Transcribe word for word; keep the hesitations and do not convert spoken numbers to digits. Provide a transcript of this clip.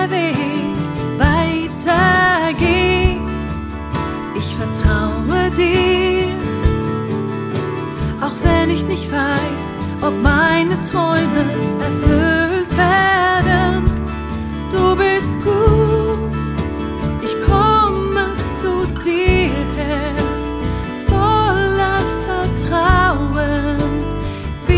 der Weg weitergeht. Ich vertraue dir, auch wenn ich nicht weiß, ob meine Träume erfüllt